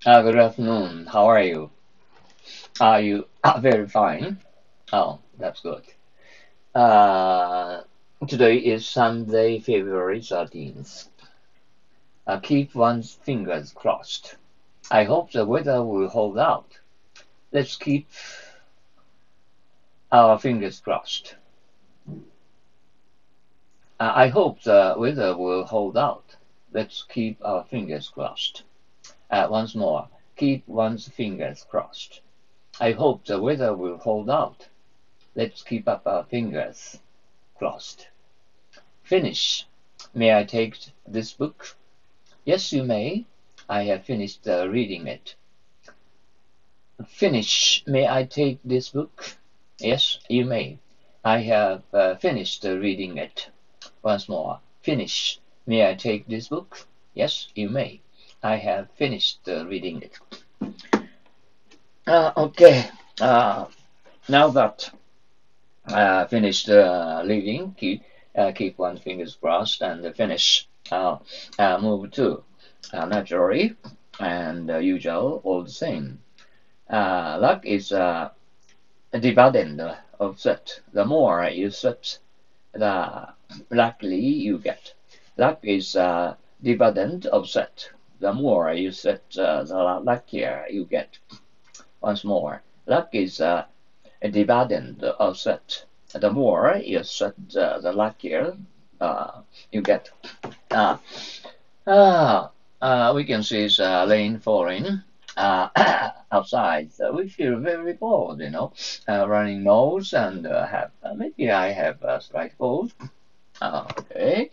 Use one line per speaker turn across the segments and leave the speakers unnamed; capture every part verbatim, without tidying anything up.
Uh, good afternoon. How are you? Are you uh, very fine? Oh, that's good. Uh, Today is Sunday, February thirteenth. Uh, keep one's fingers crossed. I hope the weather will hold out. Let's keep our fingers crossed. Uh, I hope the weather will hold out. Let's keep our fingers crossed. Uh, once more, keep one's fingers crossed. I hope the weather will hold out. Let's keep up our fingers crossed. Finish. May I take this book? Yes, you may. I have finished uh, reading it. Finish. May I take this book? Yes, you may. I have uh, finished uh, reading it. Once more. Finish. May I take this book? Yes, you may. I have finished uh, reading it. Uh, okay. Uh, now that uh, finished uh, reading, keep, uh, keep one fingers crossed and finish. Uh, uh, move to uh, naturally and uh, usual, all the same. Uh, luck is uh, a dividend of set. The more you set, the luckily you get. Luck is a dividend of set. The more you set, uh, the luckier you get. Once more, luck is uh, a dividend of set. The more you set, uh, the luckier uh, you get. Uh, uh, uh, we can see uh, rain falling uh, outside. So we feel very bored, you know, uh, running nose and uh, have uh, maybe I have a slight cold. Uh, okay.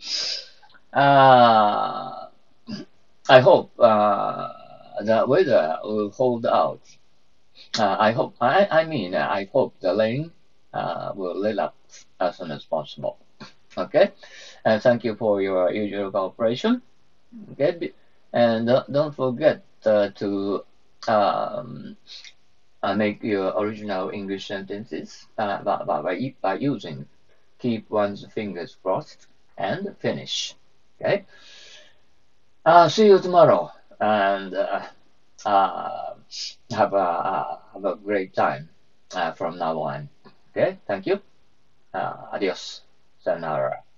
Uh, I hope uh, the weather will hold out. Uh, I hope. I, I mean, uh, I hope the rain uh, will let up as soon as possible. Okay. And thank you for your usual cooperation. Okay. And don't, don't forget uh, to um, uh, make your original English sentences uh, by, by, by using keep one's fingers crossed and finish. Okay. Uh, see you tomorrow and uh, uh, have a uh, have a great time uh, from now on. Okay. Thank you. Uh, adios. Sayonara.